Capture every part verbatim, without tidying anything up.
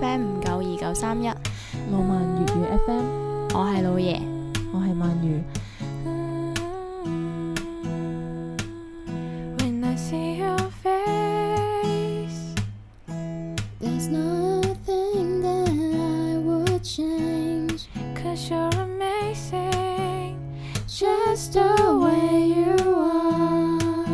F M 五九二九三一， 浪漫粵語 F M， 我係老爺， 我係鰻魚。 When I see your face, there's nothing that I would change, 'cause you're amazing, just the way you are。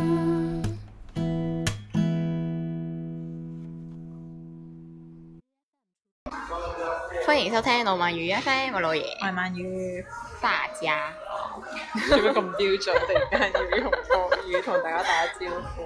歡迎收聽《浪漫粵語 F M》，我老爺， 我係鰻魚。 大家做咩咁標準？突然間要用國語同大家打招呼。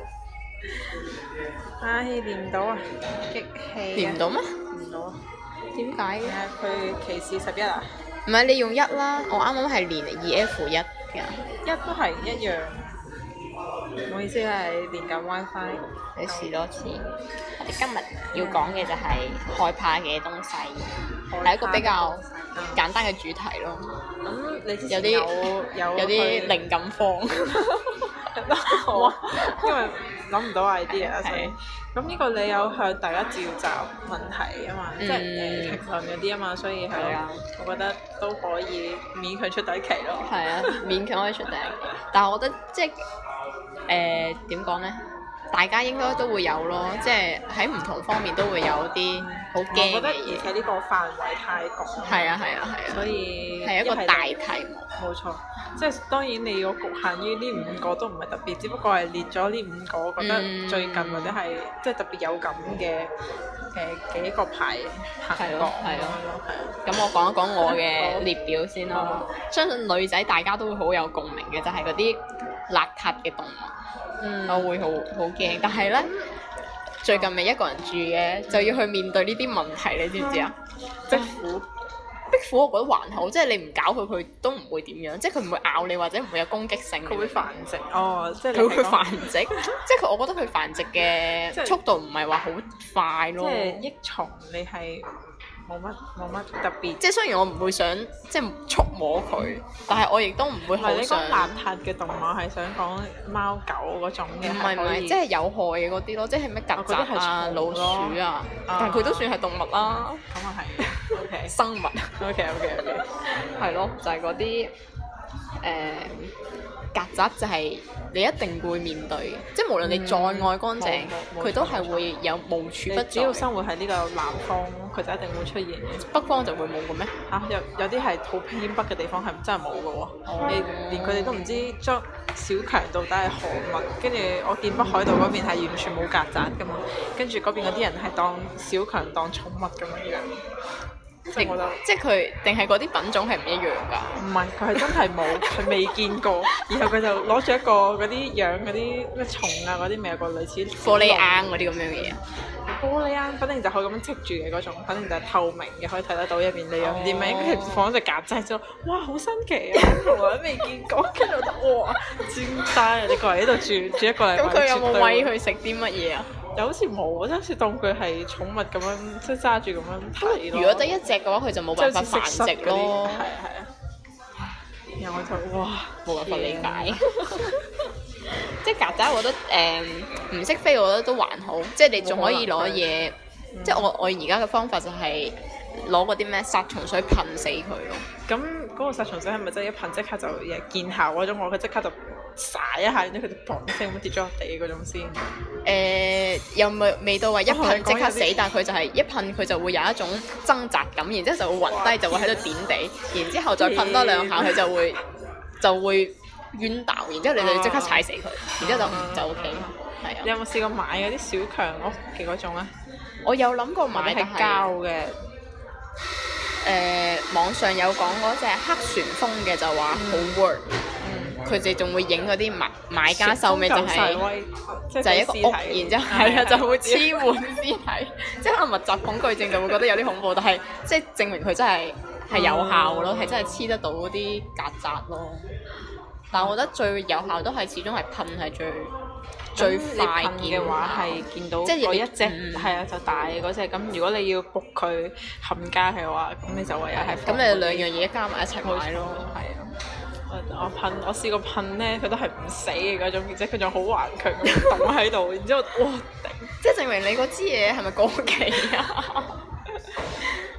唉，練唔到啊！激氣啊！ 練唔到咩？ 練唔到啊！ 點解嘅？ 係啊，佢歧視十一啊！ 唔係你用一啦，我啱啱係練二 F 一嘅。 一都係一樣。唔好意思係練緊 WiFi。 你試多次。我哋今日要講嘅就係害怕嘅東西，係一個比較簡單嘅主題咯。 咁你之有啲前有有有啲靈感荒。 哇！因為諗唔到 idea 啊，所以咁呢個你有向大家召集問題啊嘛，即係誒評論嗰啲啊嘛，所以係咯，我覺得都可以勉強出第一期咯。 係啊，勉強可以出第一期，但係我覺得即係誒點講咧？大家應該都會有咯，即係喺唔同方面都會有啲好驚嘅我覺得而嘢。 且呢個範圍太廣， 係啊係啊係啊， 所以係一個大題目。 冇錯，即係當然你要局限於呢五個都唔係特別，只不過係列咗呢五個，我覺得最近或者係即係特別有感嘅誒幾個排行係榜咯係咯係啊。 咁我講一講我嘅列表先咯。相信女仔大家都會好有共鳴嘅，就係嗰啲邋遢嘅動物。 嗯， 我會好好驚，但係咧最近咪一個人住嘅，就要去面對呢啲問題，你知唔知啊？ 壁虎， 壁虎我覺得還好，即係你唔搞佢，佢都唔會點樣，即係佢唔會咬你或者唔會有攻擊性。 佢會繁殖哦，即係你佢會係講繁殖，即係佢，我覺得佢繁殖嘅速度唔係話好快咯。 即係益蟲，你係冇乜冇乜特別。 即係雖然我唔會想即係觸摸佢，但係我亦都唔會唔係你好想。 講邋遢嘅動物係想講貓狗嗰種嘅， 唔係唔係，即係有害嘅嗰啲咯，即係咩曱甴啊、老鼠啊，但係佢都算係動物啦。 咁啊係，OK 生物 OK OK OK， 係咯，就係嗰啲誒曱甴，就係你一定會面對嘅，即係無論你再愛乾淨，佢都係會有無處不在。 只要生活喺呢個南方，佢就一定會出現嘅。 北方就會冇嘅咩？ 嚇、有有啲係好偏北嘅地方係真係冇嘅喎，你連佢哋都唔知將小強到底係何物，跟住我見北海道嗰邊係完全冇曱甴㗎嘛，跟住嗰邊嗰啲人係當小強當寵物咁樣樣。 定即係佢定係嗰啲品種係唔一樣㗎？ 唔係，佢係真係冇，佢未見過。然後佢就攞住一個嗰啲養嗰啲咩蟲啊嗰啲，咪有個類似玻璃罌嗰啲咁樣嘅嘢。 玻璃罌，反正就可以咁樣剔住嘅嗰種，反正就係透明嘅，可以睇得到入邊你養啲咩。跟住放咗隻曱甴之後，哇，好新奇啊！從來都未見過。跟住我就哇，專單啊！你過嚟呢度住住一個禮拜， 咁佢有冇餵佢食啲乜嘢啊？ 又好似冇，即係好似當佢係寵物咁樣，即係揸住咁樣睇咯。 如果得一隻嘅話，佢就冇辦法繁殖咯。 係啊係啊。然後我就哇， 冇辦法理解。即係曱甴，我覺得誒唔識飛，我覺得都還好。即係你仲可以攞嘢，即係我我而家嘅方法就係攞嗰啲咩殺蟲水噴死佢咯。 咁嗰個殺蟲水係咪真係一噴即刻就嘢見效嗰種？我佢即刻就撒一下，然之後佢就砰聲咁跌咗落地嗰種先。 誒、呃、又未未到話一噴即刻死，但係佢就係一噴佢就會有一種掙扎感，然之後就會暈低，就會喺度點地，然之後再噴多兩下，佢就會就會冤倒，然之後你就即刻踩死佢，然之後就就 O K。係啊。 你有冇試過買嗰啲小強屋嘅嗰種啊？ 我有諗過買， 係膠嘅。 誒、呃、網上有講嗰隻黑旋風嘅就話好 work，佢哋仲會影嗰啲買買家秀尾就係、是、就係一個屋，然之後係啊就會黐滿屍體，即係可能密集恐懼症就會覺得有啲恐怖，但係即係證明佢真係係有效咯，係、嗯、真係黐得到嗰啲曱甴咯。但係我覺得最有效都係始終係噴係最。最快見嘅話係見到即係嗰一隻係啊就大嗰隻，咁如果你要焗佢冚家嘅話，咁你就唯有係咁你兩樣嘢加埋一齊買咯。 係啊，我噴我試過噴咧，佢都係唔死嘅嗰種，而且佢仲好頑強咁凍喺度，然之後哇頂！ 即係證明你嗰支嘢係咪過期啊？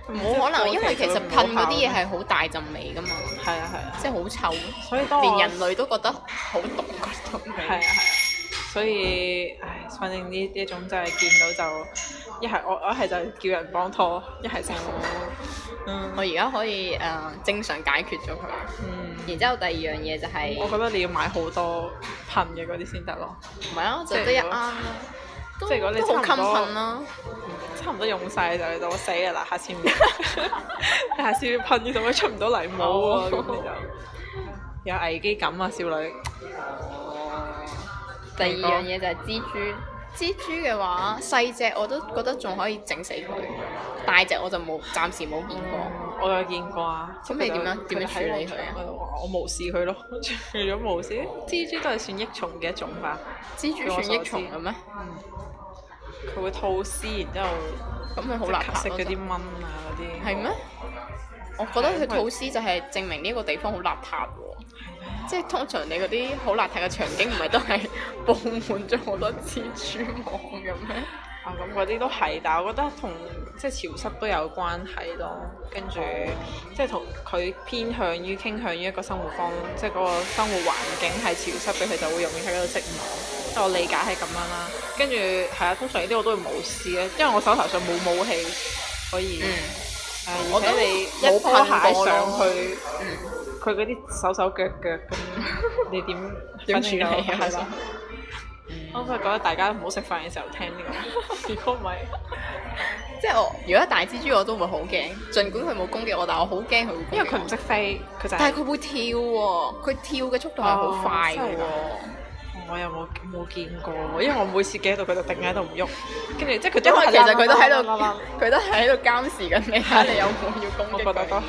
冇可能，因為其實噴嗰啲嘢係好大陣味噶嘛。 係啊係啊， 即係好臭， 所以當連人類都覺得好毒嗰種味。 係啊係啊，所以唉，反正呢呢一種真係見到就一係我我一係就叫人幫拖，一係就嗯我而家可以誒、呃、正常解決咗佢。 嗯。 然之後第二樣嘢就係、 我覺得你要買好多噴嘅嗰啲先得咯。 唔係啊，就得一啱啦。 即係如果你都好襟差唔多噴啦。 差唔多用晒就嚟到我死㗎啦！下次唔下次要噴呢度，出唔到嚟冇喎，咁你就有危機感啊，少女。 第二樣嘢就係蜘蛛。蜘蛛嘅話，細隻我都覺得仲可以整死佢，大隻我就冇，暫時冇見過。 我有見過啊。 咁你點樣點樣處理佢啊？ 我無視佢咯，除咗無視，蜘蛛都係算益蟲嘅一種吧。 蜘蛛算益蟲嘅咩？ 嗯。佢會吐絲，然之後咁佢好邋遢食嗰啲蚊啊嗰啲。 係咩？我覺得佢吐絲就係證明呢個地方好邋遢喎。即係通常你嗰啲好邋遢嘅場景，唔係都係佈滿咗好多蜘蛛網嘅咩？ 啊，咁嗰啲都係，但係我覺得同即係潮濕都有關係咯。跟住即係同佢偏向於傾向於一個生活方，即係嗰個生活環境係潮濕嘅，佢就會容易喺嗰度織網。即係我理解係咁樣啦。跟住係啊，通常呢啲我都會冇事嘅，因為我手頭上冇武器可以。嗯。誒、呃，而且你一拖鞋上去，佢嗰啲手手腳腳咁，你點點處理啊？係啦。我都係覺得大家唔好食飯嘅時候聽呢個，如果唔係， 即係我如果大蜘蛛我都會好驚，儘管佢冇攻擊我，但係我好驚佢會攻擊我。 因為佢唔識飛，佢就係。 但係佢會跳喎，佢跳嘅速度係好快嘅喎。 我又冇冇見過，因為我每次企喺度，佢就定喺度唔喐，跟住即係佢。 因為其實佢都喺度，佢都係喺度監視緊你，睇下你有冇要攻擊佢。 我覺得都係。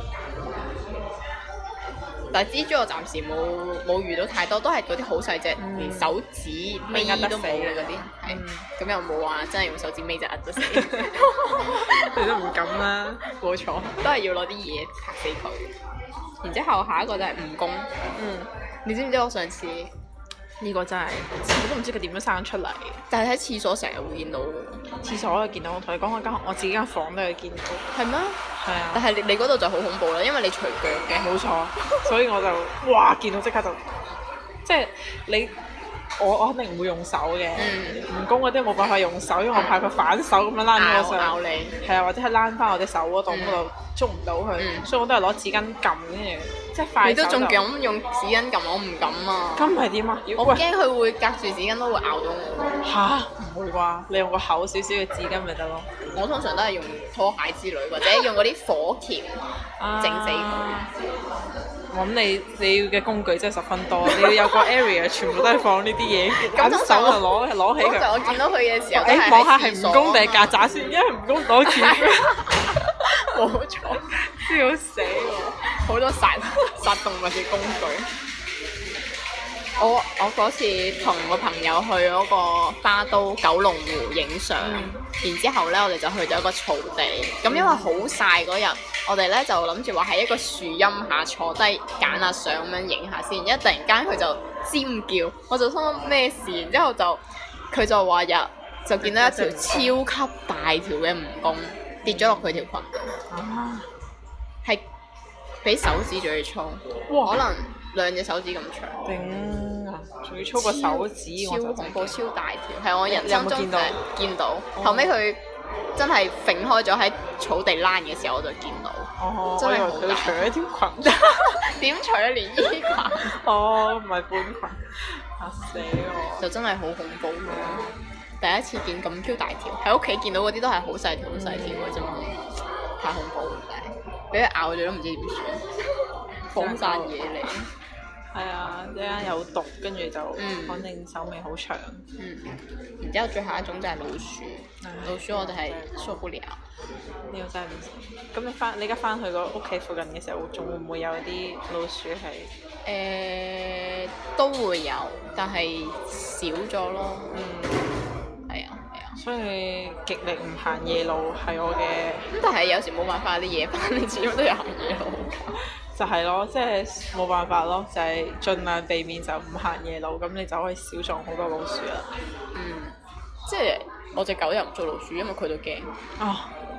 但係蜘蛛我暫時冇冇遇到太多，都係嗰啲好細隻，嗯、連手指尾都冇嘅嗰啲，係咁、嗯、又冇話真係用手指尾就壓得死， 你都唔敢啦。 冇錯，都係要攞啲嘢拍死佢。然之後下一個就係蜈蚣，嗯，你知唔知我上次？ 呢個真係，我都唔知佢點樣生出嚟。 但係喺廁所成日會見到， 廁所我見到，我同你講我間我自己間房都有見到。 係咩？ 係啊。 但係你你嗰度就好恐怖啦，因為你除腳嘅。 冇錯，所以我就哇見到即刻就，即係你我我肯定唔會用手嘅。蜈蚣嗰啲冇辦法用手，因為我怕佢反手咁樣躝咗上。 咬你。係啊，或者係躝翻我隻手嗰度，嗰度捉唔到佢，所以我都係攞紙巾撳跟住。即係快手你都仲敢用紙巾撳，我唔敢啊！ 咁係點啊？ 我驚佢會隔住紙巾都會咬到我。 吓？唔會啩？你用個厚少少嘅紙巾咪得咯。 我通常都係用拖鞋之類，或者用嗰啲火鉗整死佢。 我諗你你要嘅工具真係十分多，你要有個 area 全部都係放呢啲嘢，咁手就攞攞起佢。 通常我見到佢嘅時候， 誒望下係蜈蚣定係曱甴先，因為蜈蚣攞鉗。 冇錯，笑死我！好多殺殺動物嘅工具。我我嗰次同個朋友去嗰個花都九龍湖影相，嗯、然之後咧我哋就去咗一個草地。咁、嗯、因為好曬嗰日，我哋咧就諗住話喺一個樹蔭下坐低揀下相咁樣影下先。一突然間佢就尖叫，我就心諗咩事？然之後就佢就話日就見到一條超級大條嘅蜈蚣跌咗落佢條裙，係、啊、比手指仲要粗，哇可能兩隻手指咁長。 頂啊！仲要粗過手指， 超恐怖，超大條，係我人生中見到。 見到。後尾佢真係揈開咗喺草地躝嘅時候，我就見到。 哦， 真係好大。佢除咗條裙， 點除啊？連衣裙。 哦，唔係半裙，嚇死我！ 就真係好恐怖咯！第一次見咁 Q 大條，喺屋企見到嗰啲都係好細條、好細條嘅啫嘛，太恐怖啦！真係，俾佢咬咗都唔知點算，放晒嘢嚟。 係啊，一間有毒，跟住就反正手尾好長。 嗯，然之後最後一種就係老鼠，老鼠我哋係受不了。 呢個真係唔識。咁你翻你而家翻去個屋企附近嘅時候，仲會唔會有啲老鼠係？ 誒，都會有，但係少咗咯。嗯。係啊，係啊， 所以極力唔行夜路係我嘅。 咁但係有時冇辦法，啲夜班你始終都有行夜路。 就係咯，即係冇辦法咯，就係、是、盡量避免就唔行夜路，咁你就可以少撞好多老鼠啦。 嗯，即係我隻狗又唔做老鼠，因為佢都驚。 哦，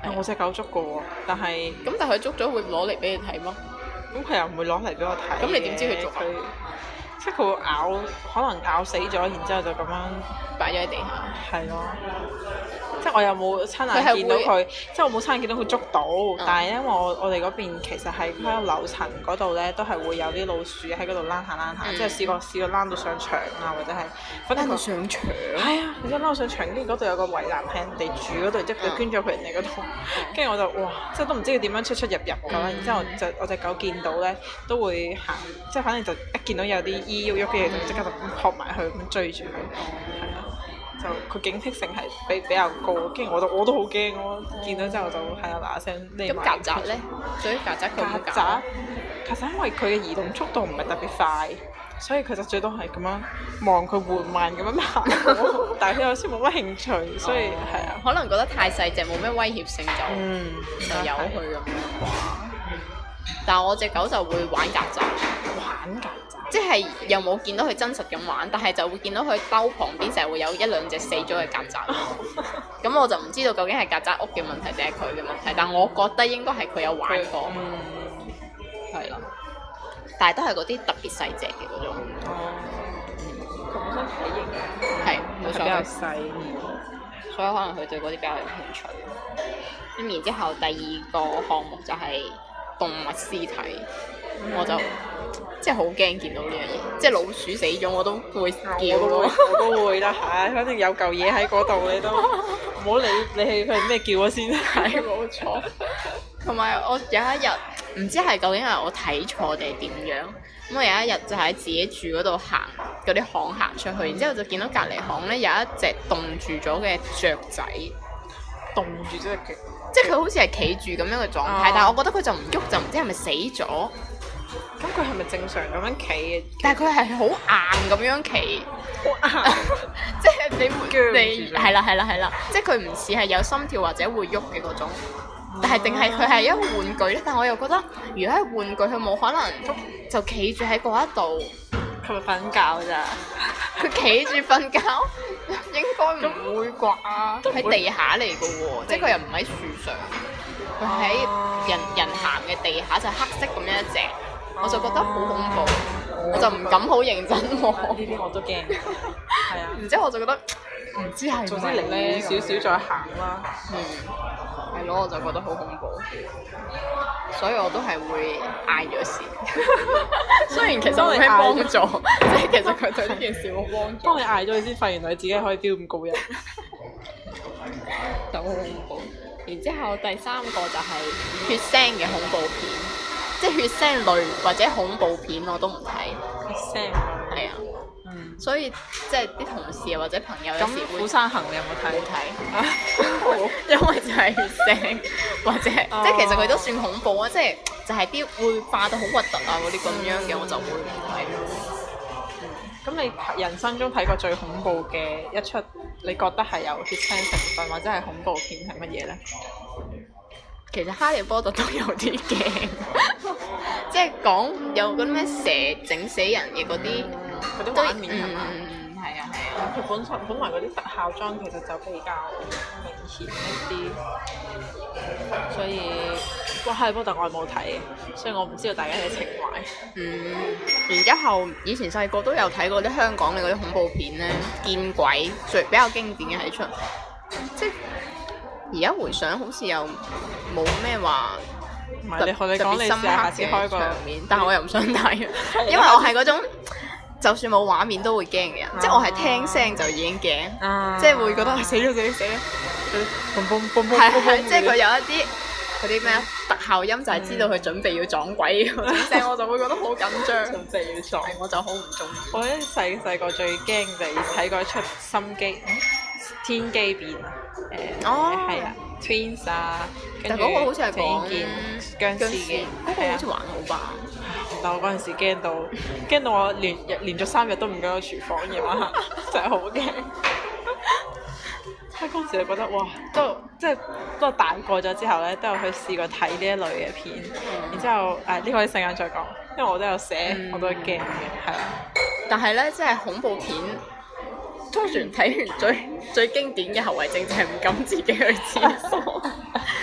係。 我隻狗捉過喎，但係咁但係佢捉咗會攞嚟俾你睇嗎？ 咁佢又唔會攞嚟俾我睇。 咁你點知佢捉佢？即係佢會咬，可能咬死咗，然之後就咁樣擺咗喺地下。 係咯。即係我又冇親眼見到佢，即係我冇親眼見到佢捉到，嗯、但係因為我我哋嗰邊其實係喺個樓層嗰度咧，都係會有啲老鼠喺嗰度躝下躝下，嗯、即係試過試過躝到上牆啊，或者係反正佢上牆。 係啊，你真躝到上牆，跟住嗰度有個圍欄係人哋住嗰度，即係佢捐咗佢人哋嗰度，跟住、嗯、我就哇，即係都唔知佢點樣出出入入咁啦。然之後就我隻狗見到咧，都會行，即係反正就一見到有啲衣喐喐嘅嘢，就即刻就撲埋去咁追住佢，係啊。就佢警惕性係比比較高，跟住我都我都好驚咯，見到之後就係啊嗱嗱聲匿埋。 咁曱甴咧？對於曱甴佢冇曱甴， 曱甴因為佢嘅移動速度唔係特別快，所以佢就最多係咁樣望佢緩慢咁樣行過，但係佢有時冇乜興趣，所以係啊。 可能覺得太細隻冇咩威脅性就、 嗯、 就由佢咁樣啩。但係我隻狗就會玩曱甴， 玩曱甴。 即係又冇見到佢真實咁玩，但係就會見到佢兜旁邊成日會有一兩隻死咗嘅曱甴。咁我就唔知道究竟係曱甴屋嘅問題定係佢嘅問題，但我覺得應該係佢有玩過。嗯，係啦。但係都係嗰啲特別細隻嘅嗰種。 哦。佢本身體型係冇錯， 比較細， 所以可能佢對嗰啲比較有興趣。咁然之後第二個項目就係動物屍體，嗯、我就。即係好驚見到呢樣嘢，即係老鼠死咗我都會叫咯， 我都會啦嚇，反正有嚿嘢喺嗰度你都唔好理你係佢係咩叫咗先，係冇錯。 同埋我有一日唔知係究竟係我睇錯定係點樣，咁我有一日就喺自己住嗰度行嗰啲巷行出去，然之後就見到隔離巷咧有一隻凍住咗嘅雀仔， 凍住咗隻腳， 即係佢好似係企住咁樣嘅狀態，啊、但係我覺得佢就唔喐，就唔知係咪死咗。 咁佢係咪正常咁樣企嘅？ 但係佢係好硬咁樣企，好硬，即係你你係啦係啦係啦，即係佢唔似係有心跳或者會喐嘅嗰種，但係定係佢係一個玩具咧？但係我又覺得，如果係玩具，佢冇可能就企住喺嗰一度， 佢咪瞓覺咋？ 佢企住瞓覺，應該唔會啩？喺地下嚟嘅喎，即係佢又唔喺樹上，佢喺人人行嘅地下，就黑色咁樣一隻。我就覺得好恐怖，哦、我就唔敢好認真喎。 呢啲我都驚，係啊。 然之後我就覺得唔知係總之離遠少少再行啦。 嗯，係咯，我就覺得好恐怖，所以我都係會嗌咗先。雖然其實冇咩幫助，即係其實佢對呢件事冇幫助。 當你嗌咗佢先發現，原來自己可以飆咁高人， 就好恐怖。然之後第三個就係血腥嘅恐怖片。即係血腥類或者恐怖片我都唔睇， 血腥係啊，嗯，所以即係啲同事啊或者朋友有時會。《釜山行》你有冇睇？冇睇，因為就係血腥或者、哦、即係其實佢都算恐怖啊，即係就係啲會化到好核突啊嗰啲咁樣嘅、嗯、我就會唔睇。 咁、嗯、你人生中睇過最恐怖嘅一出，你覺得係有血腥成分或者係恐怖片係乜嘢咧？ 其實哈利波特都有啲驚，即係講有嗰啲咩蛇整死人嘅嗰啲嗰啲畫面係嘛？ 嗯，係啊係啊。 佢本身本來嗰啲特效妝其實就比較明顯一啲，所以哇哈利波特我係冇睇嘅，所以我唔知道大家嘅情懷。 嗯，然之後以前細個都有睇過啲香港嘅嗰啲恐怖片咧，見鬼最比較經典嘅係出，即係。而家回想好似又冇咩話特別深刻嘅場面，但係我又唔想睇，因為我係嗰種就算冇畫面都會驚嘅人，即係我係聽聲就已經驚，即係會覺得死咗死咗死咗，係係，即係佢有一啲嗰啲咩特效音就係知道佢準備要撞鬼嗰啲聲，我就會覺得好緊張，準備要撞，我就好唔中意。 我咧細細個最驚就係睇過一出心機。天機變啊！誒，係啊 ，Twins 啊， 但嗰個好似係講殭屍嘅， 嗰個好似還好吧。 但我嗰陣時驚到，驚到我連日連續三日都唔敢去廚房夜晚黑，真係好驚。嗰陣時就覺得哇，都即係都大個咗之後咧，都有去試過睇呢一類嘅片。嗯、然之後誒，呢個一陣間再講，因為我都有寫，嗯、我都驚嘅，係啊。 但係咧，即係恐怖片。通常睇完最最經典嘅後遺症就係唔敢自己去廁所，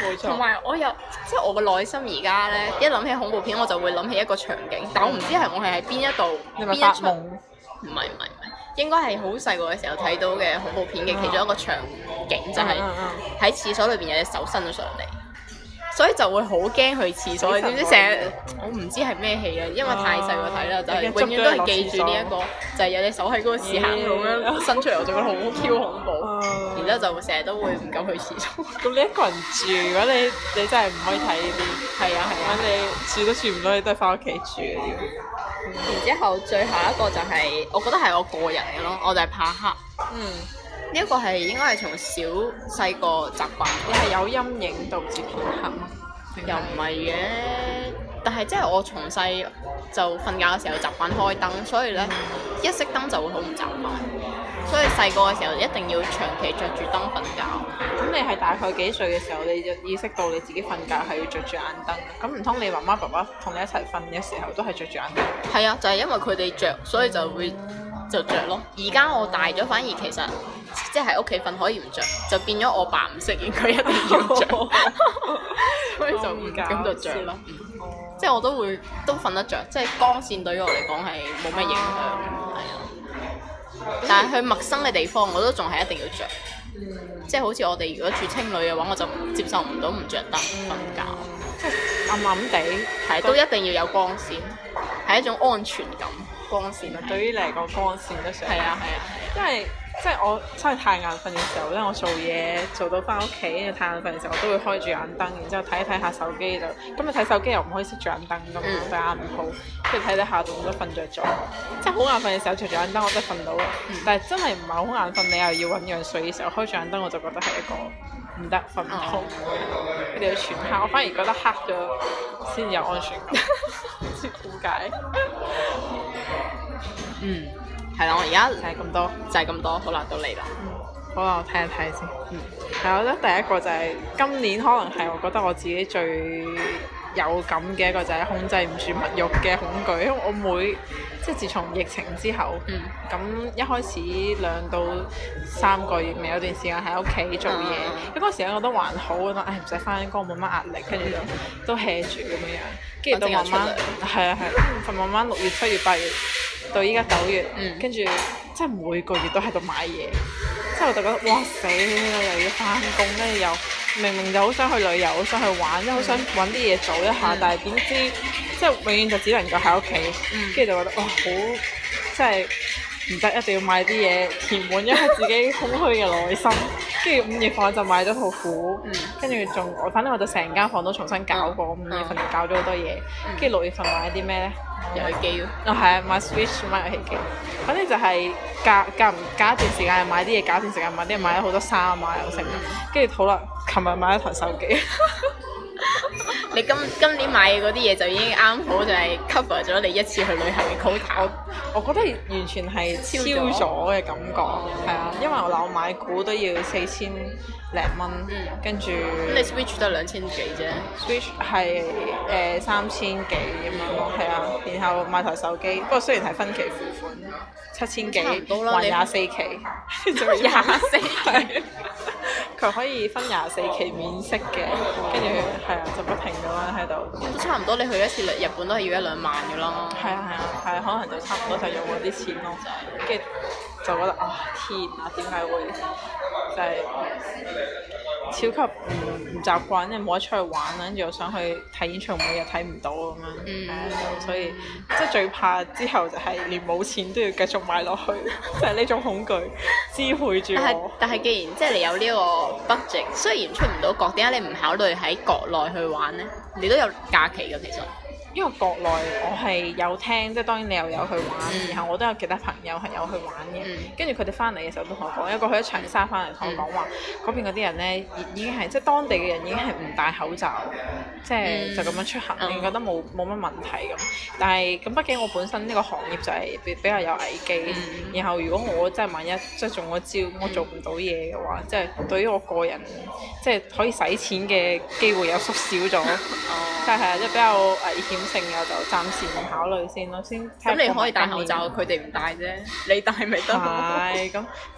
冇錯。 同埋我有即係我個內心而家咧，一諗起恐怖片我就會諗起一個場景，但我唔知係我係喺邊一度你咪邊一出， 發夢？ 唔係唔係唔係，應該係好細個嘅時候睇到嘅恐怖片嘅其中一個場景，就係喺廁所裏邊有隻手伸咗上嚟。所以就會好驚去廁所，你知唔知成日我唔知係咩戲啊，因為太細個睇啦，就係永遠都係記住呢一個，就係有隻手喺嗰個屎坑度咁樣伸出嚟，我就覺得好 Q 恐怖，然之後就成日都會唔敢去廁所。 咁你一個人住，如果你你真係唔可以睇呢啲， 係啊係啊， 你住都住唔到，你都係翻屋企住嘅要。 然之後最後一個就係，我覺得係我個人嘅咯，我就係怕黑。 嗯。 呢一個係應該係從小細個習慣， 你係有陰影導致偏黑嗎？ 又唔係嘅，但係即係我從細就瞓覺嘅時候習慣開燈，所以咧、嗯、一熄燈就會好唔習慣，所以細個嘅時候一定要長期着住燈瞓覺。 咁你係大概幾歲嘅時候你就意識到你自己瞓覺係要着住眼燈？咁唔通你媽媽爸爸同你一齊瞓嘅時候都係着住眼燈？係啊，就係、是、因為佢哋着，所以就會就着咯。而家我大咗，反而其實即係喺屋企瞓可以唔着，就變咗我爸唔適應，佢一定要着，所以就唔咁就着啦。即係我都會都瞓得着，即係光線對於我嚟講係冇乜影響，係啊。但係去陌生嘅地方，我都仲係一定要着。嗯、即係好似我哋如果住青旅嘅話，我就接受唔到唔着燈瞓覺， 即係暗暗地， 係都一定要有光線，係一種安全感。光線對於你嚟講，光線都算係啊係啊， 因為即係我真係太眼瞓嘅時候咧，我做嘢做到翻屋企，跟住太眼瞓嘅時候，我都會開住眼燈，然之後睇一睇下手機就，咁你睇手機又唔可以熄住眼燈㗎嘛，對眼唔好，跟住睇睇下就咁都瞓着咗。即係好眼瞓嘅時候，除住眼燈我真係瞓到，嗯、但係真係唔係好眼瞓，你又要醞釀睡嘅時候開住眼燈，我就覺得係一個唔得瞓唔好。佢哋要全黑，我反而覺得黑咗先有安全感，唔知點解。 嗯，係啦，我而家就係咁多， 就係咁多，好啦，到你啦。 嗯，好啦，我睇一睇先。嗯，係，我覺得第一個就係、是、今年可能係我覺得我自己最有感嘅一個就係控制唔住物慾嘅恐懼，因為我每即係自從疫情之後，咁、嗯、一開始兩到三個月未有段時間喺屋企做嘢，咁嗰、嗯、時間我覺得還好，覺得唉唔使翻工冇乜壓力，跟住就都 hea 住咁樣樣，跟住到慢慢係啊係，就慢慢六月七月八月到依家九月，跟住即係每個月都喺度買嘢，之後我就覺得哇死啦，又要翻工，跟住又明明就好想去旅遊，好想去玩，即係好想揾啲嘢做一下，嗯、但係點知即係永遠就只能夠喺屋企，跟住、嗯、就覺得哇好，即係唔得，一定要買啲嘢填滿一下自己空虛嘅內心。跟住五月份我就買咗套褲，跟住仲我反正我就成間房都重新搞過，五、嗯、月份就搞咗好多嘢，跟住六月份買啲咩咧？ 遊戲機咯。 啊係啊，買 Switch 買遊戲機，反正就係隔隔唔隔一段時間買啲嘢，隔一段時間買啲嘢，買咗好多衫啊又成，跟住好啦，琴日買咗台手機。 你今今年買嘅嗰啲嘢就已經啱好就係 cover 咗你一次去旅行嘅 quota。 我覺得完全係超咗嘅感覺，係啊，因為我嗱我買股都要四千零蚊，跟住。咁你 Switch 都係兩千幾啫。Switch 係誒三千幾咁樣咯，係啊，然後買台手機，不過雖然係分期付款，七千幾，還廿四期，仲要廿四期。佢可以分廿四期免息嘅，跟住係啊，就不停咁樣喺度。 都差唔多，你去一次日本都係要一兩萬嘅啦。 係啊係啊係啊，可能就差唔多就用嗰啲錢咯，跟住就覺得啊天啊，點解會就係、是、超級唔唔習慣，因為冇得出去玩啦，跟住又想去睇演唱會又睇唔到咁樣，嗯嗯、所以即係最怕之後就係連冇錢都要繼續買落去，就係呢種恐懼支配住我。但係但係既然即係你有呢個 budget，雖然出唔到國，點解你唔考慮喺國內去玩呢？你都有假期㗎，其實。 因為國內我係有聽，即係當然你又有去玩，嗯、然後我都有其他朋友係有去玩嘅。跟住佢哋翻嚟嘅時候都同我講，有一個去咗長沙翻嚟同我講話，嗰、嗯、邊嗰啲人咧已已經係即係當地嘅人已經係唔戴口罩，即係、嗯、就咁樣出行，你、嗯、覺得冇冇乜問題咁。但係咁畢竟我本身呢個行業就係比比較有危機，嗯、然後如果我真係萬一即係中咗招，我做唔到嘢嘅話，即係對於我個人即係可以使錢嘅機會有縮小咗，即係係啊，即係比較危險性嘅就暫時唔考慮先咯，先。 咁你可以戴口罩，佢哋唔戴啫，你戴咪得咯。 係咁，即係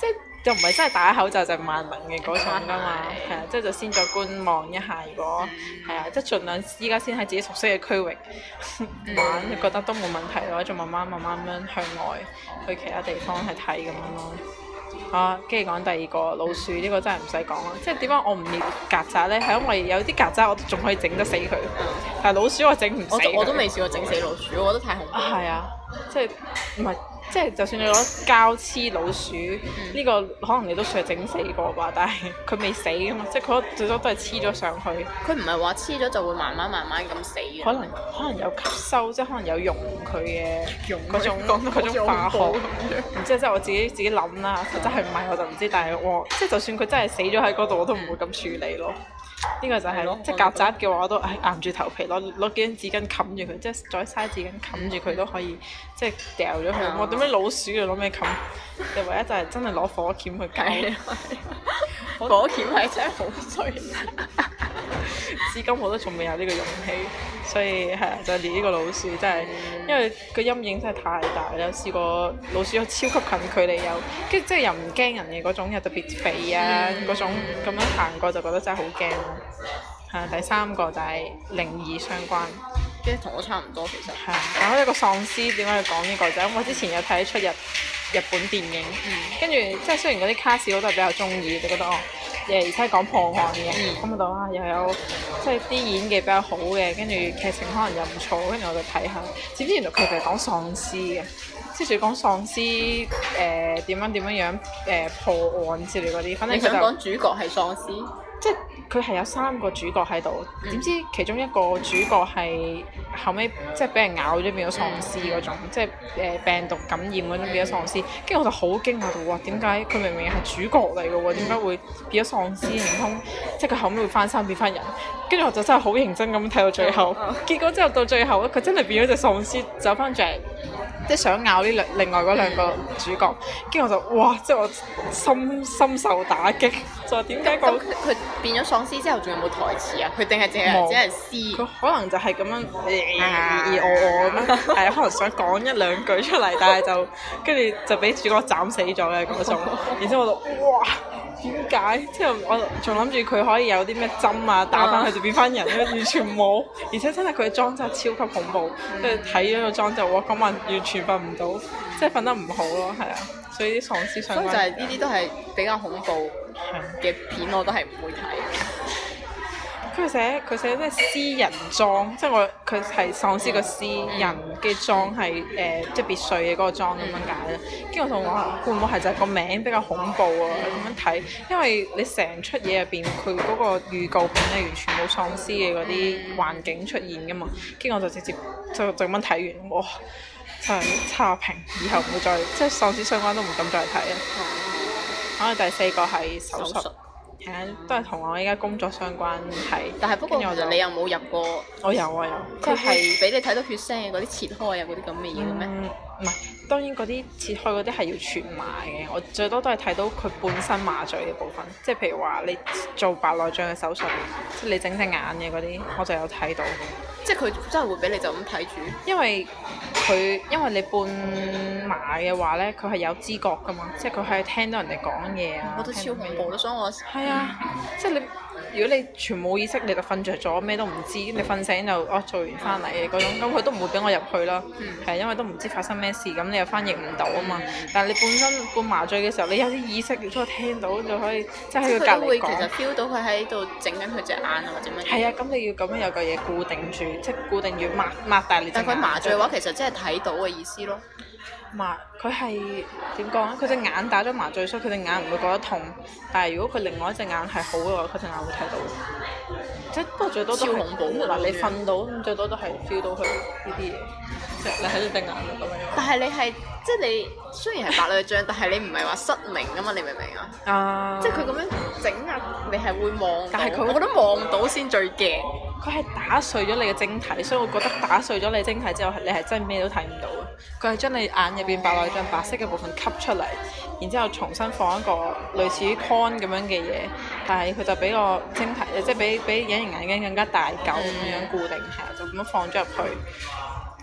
就唔係真係戴口罩就萬能嘅嗰種㗎嘛，係啊，即係就先再觀望一下，如果係啊，即係盡量依家先喺自己熟悉嘅區域玩，嗯、覺得都冇問題嘅話，就慢慢慢慢咁樣向外去其他地方去睇咁樣咯。啊，跟住講第二個老鼠呢、呢個真係唔使講啦，即係點解我唔滅曱甴咧？係因為有啲曱甴我仲可以整得死佢，但係老鼠我整唔死佢。 我都未試過整死老鼠，我覺得太恐怖。 係啊，即係唔係？即係就算你攞膠黐老鼠，呢、嗯、個可能你都算係整死過吧，但係佢未死噶嘛，即係佢最多都係黐咗上去。佢唔係話黐咗就會慢慢慢慢咁死嘅。 可能可能有吸收，即係可能有溶佢嘅嗰種嗰種化學。唔知即係我自己自己諗啦，實質係唔係我就唔知，但係我即係就算佢真係死咗喺嗰度，我都唔會咁處理咯。呢個就係、是、即係曱甴嘅話，我都唉硬住頭皮攞攞幾張紙巾冚住佢，即係再嘥紙巾冚住佢都可以，即係掉咗佢。我點解老鼠要攞咩冚？又唯一就係真係攞火鉗去搞。 火鉗係真係好衰。 至今我都仲未有呢個勇氣，所以係啊，就係連呢個老鼠真係，因為個陰影真係太大啦。有試過老鼠有超級近距離有，跟住即係又唔驚人嘅嗰種，又特別肥啊嗰種，咁樣行過就覺得真係好驚咯。係啊，第三個就係靈異相關， 即係同我差唔多其實。 係啊，講一個喪屍點解要講呢個就係因為我之前有睇一出日日本電影，跟住即係雖然嗰啲卡士我都係比較中意，就覺得哦。誒而且講破案嘅，咁度啊又有即係啲演技比較好嘅，跟住劇情可能又唔錯，跟住我就睇下，點知原來佢哋係講喪屍嘅，即係仲要講喪屍誒點樣點樣樣誒、呃、破案之類嗰啲，反正佢就想講主角係喪屍， 即係佢係有三個主角喺度，點、嗯、知其中一個主角係後尾即係俾人咬咗變咗喪屍嗰種，嗯、即係誒、呃、病毒感染嗰種變咗喪屍，跟住我就好驚訝到哇，點解佢明明係主角嚟嘅喎，點解會變咗喪屍？唔通即係佢後尾會翻生變翻人？跟住我就真係好認真咁睇到最後，嗯、結果之後到最後咧，佢真係變咗隻喪屍走翻轉嚟。即係想咬呢兩另外嗰兩個主角，跟住我就哇！即係我深深受打擊，就話點解講佢變咗喪屍之後仲有冇台詞啊？佢定係淨係只係詩？ 佢可能就係咁樣誒誒我我咁樣，係可能想講一兩句出嚟，但係就跟住就俾主角斬死咗嘅嗰種。然之後我就哇！點解？之後我仲諗住佢可以有啲咩針啊打翻佢就變翻人咧，完全冇。而且真係佢嘅妝真係超級恐怖，跟住睇咗個妝就哇，今晚完全瞓唔到，即係瞓得唔好咯，係啊。所以啲喪屍相關， 所以就係呢啲都係比較恐怖嘅片，我都係唔會睇。 佢寫佢寫咩屍人莊，即係我佢係喪屍個屍人嘅莊係誒即係別墅嘅嗰個莊咁樣解啦。跟住我同我話會唔會係就係個名比較恐怖啊咁樣睇，因為你成出嘢入邊佢嗰個預告片咧完全冇喪屍嘅嗰啲環境出現噶嘛。跟住我就直接就就咁樣睇完，哇！真係差評，以後唔會再即係喪屍相關都唔敢再睇啦。可能第四個係手術。係啊，都係同我依家工作相關係。 但係不過其實你有冇入過？ 我有啊有。 佢係俾你睇到血腥嘅嗰啲切開啊嗰啲咁嘅嘢嘅咩？ 唔係、嗯，當然嗰啲切開嗰啲係要全麻嘅。我最多都係睇到佢本身麻醉嘅部分，即係譬如話你做白內障嘅手術，即係你整隻眼嘅嗰啲，我就有睇到。 即係佢真係會俾你就咁睇住？因為佢因為你半麻嘅話咧，佢係有知覺噶嘛，即係佢係聽到人哋講嘢啊。 我覺得超恐怖咯，所以我係啊，即係你如果你全冇意識，你就瞓着咗，咩都唔知，你瞓醒就哦做完翻嚟嘅嗰種，咁佢都唔會俾我入去啦。係、嗯、因為都唔知發生咩事，咁你又翻譯唔到啊嘛。嗯、但係你本身半麻醉嘅時候，你有啲意識，亦都聽到就可以即係喺佢隔離講。佢都會其實 feel 到佢喺度整緊佢隻眼啊，或者乜嘢。 係啊，咁你要咁樣有個嘢固定住，即係固定要擘擘大你隻眼。 但佢麻醉嘅話，其實真係睇到嘅意思咯。 麻佢係點講咧？佢隻眼打咗麻醉，所以佢隻眼唔會覺得痛。但係如果佢另外一隻眼係好嘅話，佢隻眼會睇到。即係不過最多都係超恐怖嗱，你瞓到咁最多都係 feel 到佢呢啲嘢，即係你喺度隻眼度咁樣。 但係你係即係你雖然係白內障，但係你唔係話失明啊嘛？你明唔明啊？啊！即係佢咁樣整啊，你係會望，但係佢我覺得望到先最驚。 佢係打碎咗你嘅晶體，所以我覺得打碎咗你嘅晶體之後，你係真係咩都睇唔到嘅。佢係將你眼入邊白內障白色嘅部分吸出嚟，然之後重新放一個類似於 con 咁樣嘅嘢，但係佢就比個晶體，即係比比隱形眼鏡更加大嚿咁樣固定，係啊，就咁樣放咗入去。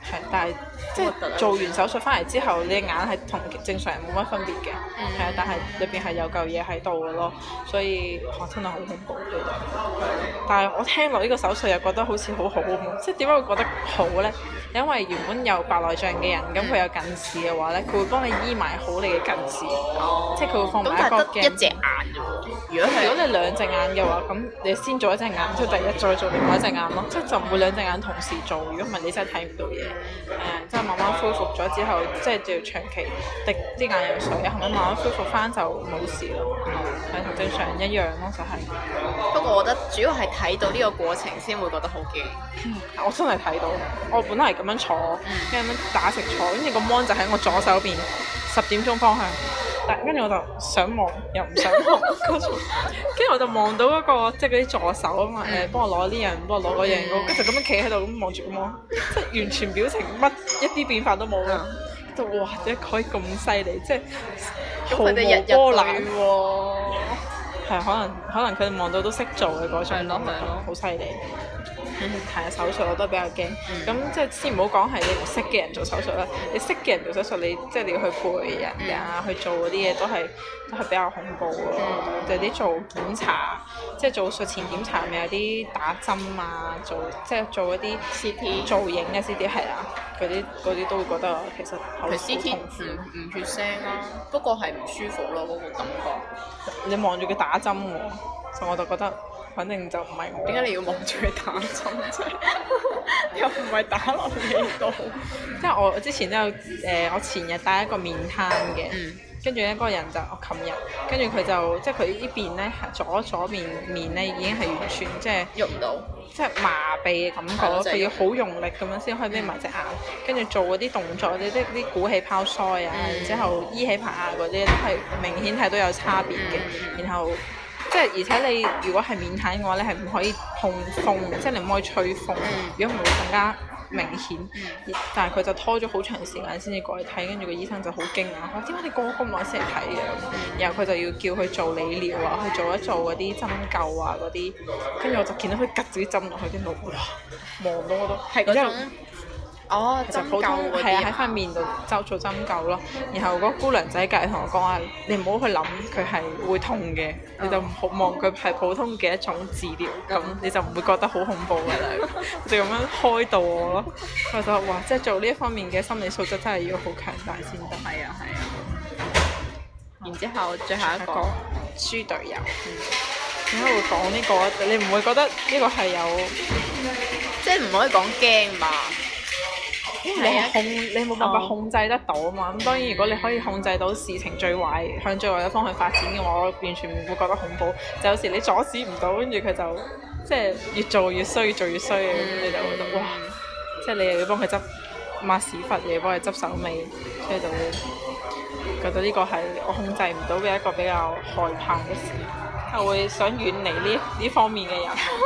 係，但係即係做完手術翻嚟之後，你隻眼係同正常人冇乜分別嘅，係啊、嗯，但係裏邊係有嚿嘢喺度嘅咯，所以哇真係好恐怖嘅。但係我聽落呢個手術又覺得好似好好咁，即係點解會覺得好咧？因為原本有白內障嘅人，咁佢、嗯、有近視嘅話咧，佢會幫你醫埋好你嘅近視，哦、即係佢會放埋一個鏡。 一隻眼啫喎，如果係如果你兩隻眼嘅話，咁你先做一隻眼，之後第日再做另外一隻眼咯，即係就唔會兩隻眼同時做。如果唔係，你真係睇唔到嘢。誒，即係慢慢恢復咗之後，即係就要長期滴啲眼藥水，後尾慢慢恢復翻就冇事咯。係同、嗯、正常人一樣咯，就係、是。 不過我覺得主要係睇到呢個過程先會覺得好驚、 嗯。我真係睇到，我本來係咁樣坐，跟住咁樣打直坐，跟住個 mon 就喺我左手邊十點鐘方向。但跟住我就想望又唔想望，跟住我就望到嗰、那個即係嗰啲助手啊嘛，誒、嗯、幫我攞呢樣，幫我攞嗰樣，跟住咁樣企喺度咁望住個 mon，即係完全表情乜一啲變化都冇嘅，就、嗯、哇！點解可以咁犀利？即係毫無波瀾喎。係可能可能佢哋望到都識做嘅嗰種咯，好犀利。係啊，手術我都比較驚。咁、嗯、即係先唔好講係你唔識嘅人做手術啦，你識嘅人做手術，你即係你要去陪人啊，嗯、去做嗰啲嘢都係都係比較恐怖咯。嗯、就啲做檢查，即係做術前檢查，咪有啲打針啊，做即係做嗰啲 C T 造影嘅 C T 係啊，嗰啲嗰啲都會覺得其實好痛苦。 C T 唔唔血腥啦，不過係唔舒服咯，嗰、嗰個感覺。 你望住佢打針喎，所以我就覺得。反正就唔係我。 點解你要望住佢打針啫？又唔係打落你度。 即係我之前都有誒、呃，我前日帶一個面癱嘅，跟住咧嗰個人就我琴日，跟住佢就即係佢呢邊咧左左面面咧已經係完全即係喐唔到， 即係麻痹嘅感覺，佢要好用力咁樣先可以眯埋隻眼，跟住、嗯、做嗰啲動作，啲啲啲鼓氣泡腮啊，嗯、然之後依起拍啊嗰啲都係明顯睇到有差別嘅，嗯、然後。即係而且你如果係面癱嘅話，你係唔可以碰風，即係你唔可以吹風。如果唔係會更加明顯。嗯、但係佢就拖咗好長時間先至過嚟睇，跟住個醫生就好驚訝，話點解你過咗咁耐先嚟睇嘅？然後佢就要叫佢做理療啊，去做一做嗰啲針灸啊嗰啲。跟住我就見到佢拮住啲針落去，跟住哇，望到我都係嗰種。哦，就普通係啊，喺塊面度就做針灸咯。然後嗰個姑娘仔隔離同我講話，你唔好去諗佢係會痛嘅，嗯、你就唔好望佢係普通嘅一種治療，咁、嗯、你就唔會覺得好恐怖㗎啦。就咁樣開導我咯。我就哇，即係做呢一方面嘅心理素質真係要好強大先得。 係啊係啊。然之後最後一個豬隊友， 點解會講呢個？你唔會覺得呢個係有， 即係唔可以講驚嘛？ 因為你係控，你冇辦法控制得到啊嘛。咁當然，如果你可以控制到事情最壞向最壞嘅方向發展嘅話，我完全唔會覺得恐怖。就有時你阻止唔到，跟住佢就即係越做越衰，越做越衰嘅，咁、嗯、你就覺得哇！即係你又要幫佢執抹屎忽，又要幫佢執手尾，所以就會覺得呢個係我控制唔到嘅一個比較害怕嘅事，我會想遠離呢呢方面嘅人。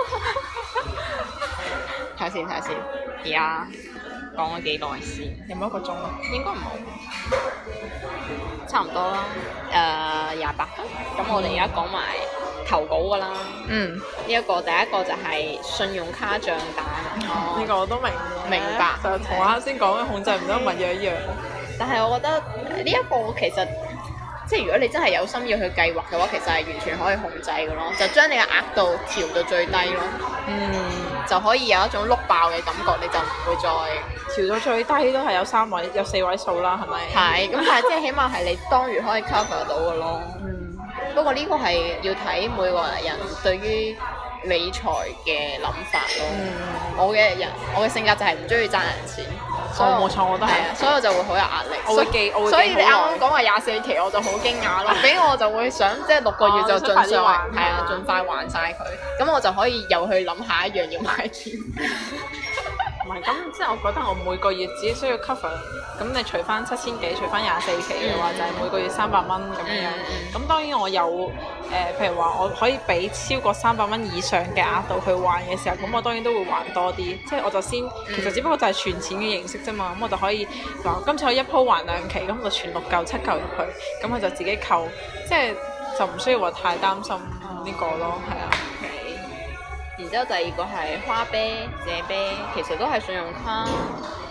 睇下先，睇下先，而家。講咗幾耐先？ 有冇一個鐘啊？ 應該唔好，差唔多啦。誒，廿八分。咁我哋而家講埋投稿㗎啦。嗯。呢一個第一個就係信用卡帳單。 哦。呢個我都明。 明白。 就同我啱先講嘅控制唔到物樣一樣。 但係我覺得呢一個其實，即係如果你真係有心要去計劃嘅話，其實係完全可以控制嘅咯。就將你嘅額度調到最低咯。嗯。就可以有一種碌爆嘅感覺，你就唔會再調到最低都係有三位、有四位數啦，係咪？ 係，咁但係即係起碼係你當月可以 cover 到嘅咯。嗯。不過呢個係要睇每個人對於理財嘅諗法咯。嗯。我嘅人，我嘅性格就係唔中意爭人錢。 所以冇錯，我都係啊， 所以我就會好有壓力。 我會記，我會記好耐。 所以你啱啱講話廿四期，我就好驚訝咯。俾我就會想，即係六個月就盡快還，係啊，盡快還晒佢。咁我就可以又去諗下一樣要買添。 唔係，咁即係我覺得我每個月只需要 cover，咁你除翻七千幾，除翻廿四期嘅話，嗯、就係每個月三百蚊咁樣。咁、嗯、當然我有誒、呃，譬如話我可以俾超過三百蚊以上嘅額度去還嘅時候，咁我當然都會還多啲。即係我就先，其實只不過就係存錢嘅形式啫嘛。咁我就可以嗱，今次我一鋪還兩期，咁我就存六嚿七嚿入去，咁我就自己扣，即係就唔需要話太擔心呢個咯，係啊。 然之後第二個係花唄、借唄，其實都係信用卡，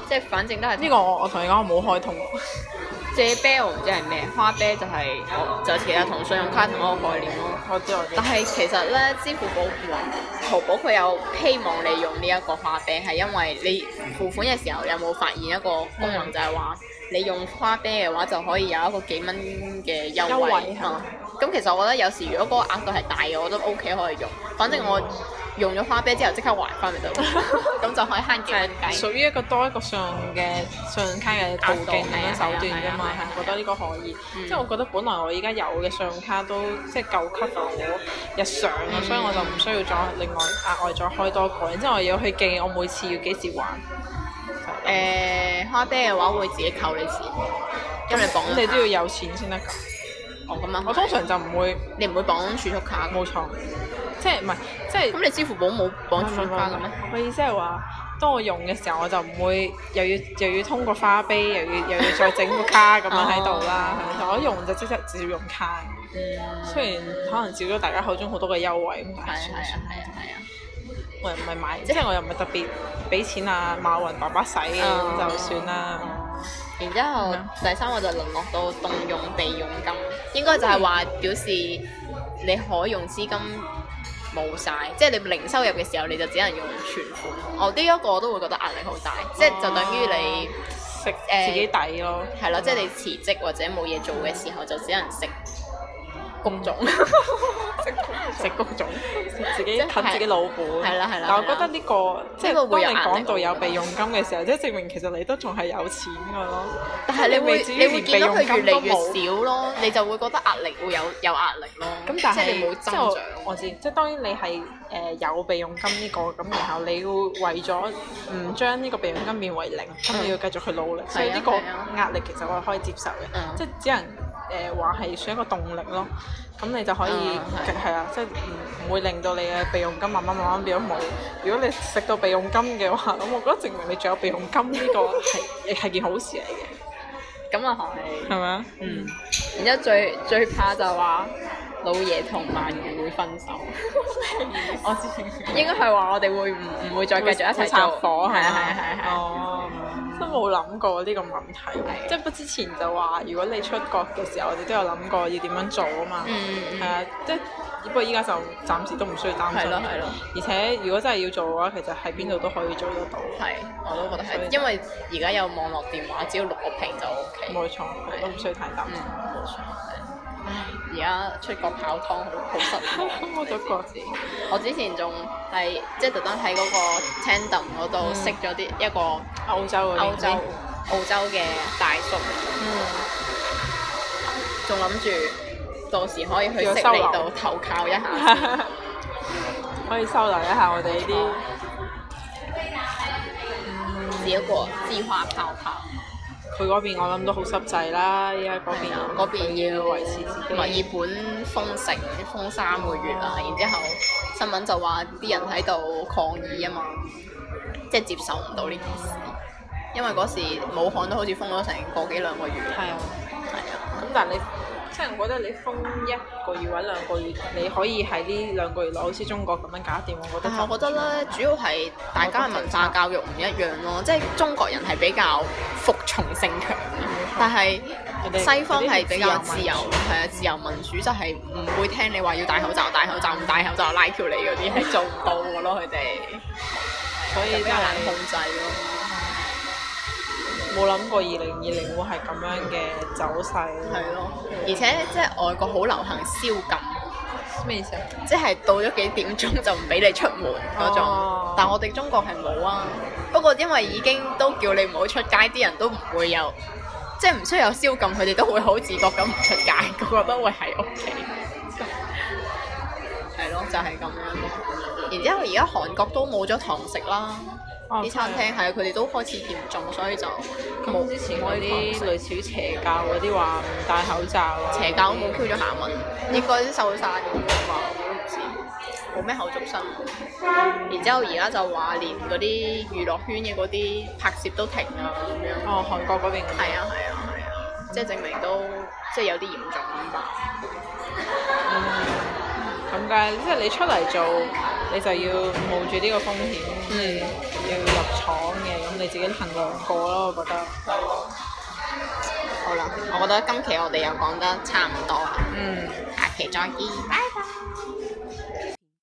即係反正都係呢個我我同你講，我冇開通。 借啤我唔知係咩，花啤就係、我就其實同信用卡同一個概念咯。 我知我知。 但係其實咧，支付寶淘寶佢有希望你用呢一個花啤，係因為你付款嘅時候有冇發現一個功能，嗯、就係話你用花啤嘅話就可以有一個幾蚊嘅優惠。優惠嗯。咁其實我覺得有時如果嗰個額度係大嘅，我都 OK 可以用。反正我用咗花啤之後即刻還翻咪得，咁就可以慳幾蚊雞。 屬於一個多一個信用嘅信用卡嘅途徑咁樣手段㗎嘛，係覺得呢個可以。嗯、即係我覺得本來我依家有嘅信用卡都即係夠 cover 我日常啊，嗯、所以我就唔需要再另外額外再開多個。然之後我要去記我每次要幾時還。誒、 呃，花啤嘅話會自己扣你錢，因為你綁咗卡。咁你都要有錢先得㗎。 哦，咁啊！ 我通常就唔會， 你唔會綁儲蓄卡。 冇錯，即係唔係即係。咁你支付寶冇綁儲蓄卡嘅咩？ 我意思係話，當我用嘅時候，我就唔會又要又要通過花唄，又要又要再整個卡咁樣喺度啦。係我一用就即刻直接用卡。嗯。雖然可能少咗大家口中好多嘅優惠咁，但係算算。係啊係啊係啊！我又唔係買，即係我又唔係特別俾錢啊馬雲爸爸使嘅，咁就算啦。 然之後、嗯、第三個就淪落到動用備用金，應該就係話表示你可用資金冇晒，即係你零收入嘅時候你就只能用存款。我呢一個我都會覺得壓力好大，哦、即係就等於你食誒自己抵咯， 係咯、呃，即係你辭職或者冇嘢做嘅時候就只能食工種，食工種，食自己啃自己老本。係啦係啦。但我覺得呢個即係當你講到有備用金嘅時候，即係證明其實你都仲係有錢㗎咯。但係你會你會見到佢越嚟越少咯，你就會覺得壓力會有有壓力咯。咁但係你冇增長。我知，即係當然你係誒有備用金呢個，咁然後你要為咗唔將呢個備用金變為零，咁你要繼續去努力。所以呢個壓力其實我係可以接受嘅，即係只能。誒話係算一個動力咯，咁你就可以係啊、嗯，即係唔唔會令到你嘅備用金慢慢慢慢變咗冇。如果你食到備用金嘅話，咁我覺得證明你仲有備用金呢個係亦係件好事嚟嘅。咁啊係，係咪啊？嗯。然之後最最怕就話老爺同鰻魚會分手。我之前應該係話我哋會唔唔會再繼續一齊做火？係啊係啊係係。哦。都冇諗過呢個問題，的即係不之前就話，如果你出國嘅時候，我哋都有諗過要點樣做啊嘛。嗯係啊，即係不過依家就暫時都唔需要擔心。係咯係咯。而且如果真係要做嘅話，其實喺邊度都可以做得到。係，我都覺得係，因為而家有網絡電話，只要錄個屏就 O K。冇錯，的都唔需要太擔心。冇、嗯、錯。唉，而家出國泡湯好好失望。我都覺得。我之前仲係即係特登喺嗰個 Tandem 嗰度識咗啲一個歐洲歐洲澳洲嘅大叔。嗯。仲諗住到時可以去悉尼度投靠一下。可以收留一下我哋呢啲。嗯。一個自畫泡泡。佢嗰邊我諗都好濕滯啦，依家嗰邊嗰邊要維持自己。墨爾本封城封三個月啦，然之後新聞就話啲人喺度抗議啊嘛，即係接受唔到呢件事，因為嗰時武漢都好似封咗成個幾兩個月。係啊，係啊。咁但係你即係我覺得你封一個月或者兩個月，你可以喺呢兩個月內好似中國咁樣搞掂，我覺得。我覺得咧，主要係大家嘅文化教育唔一樣咯，即係中國人係比較服從性強嘅，但係西方係比較自由，係啊，自由民主就係唔會聽你話要戴口罩，戴口罩唔戴口罩拉條你嗰啲係做唔到嘅咯，佢哋。所以比較難控制咯。冇諗過二零二零會係咁樣嘅走勢。係咯，而且即係外國好流行宵禁。咩意思啊？即係到咗幾點鐘就唔俾你出門嗰種。哦、但係我哋中國係冇啊。不過因為已經都叫你唔好出街，啲人都唔會有，即係唔需要有宵禁，佢哋都會好自覺咁唔出街，個個都會喺屋企。係咯，就係、是、咁樣。然之後而家韓國都冇咗堂食啦。啲、哦、餐廳係啊，佢哋都開始嚴重，所以就冇之前嗰啲類似於邪教嗰啲話唔戴口罩啊。邪教都冇 Q 咗下文，應該都收晒嘅嘛，我都唔知。冇咩口續新聞。然之後而家就話連嗰啲娛樂圈嘅嗰啲拍攝都停啊咁樣。哦，韓國嗰邊。係啊係啊係啊，即係證明都即係有啲嚴重咁吧。咁嘅，即係你出嚟做，你就要冒住呢個風險。嗯。 要入廠嘅，咁你自己衡量過咯，我覺得。 好啦，我覺得今期我哋又講得差唔多啦。 嗯。 下期再見，拜拜。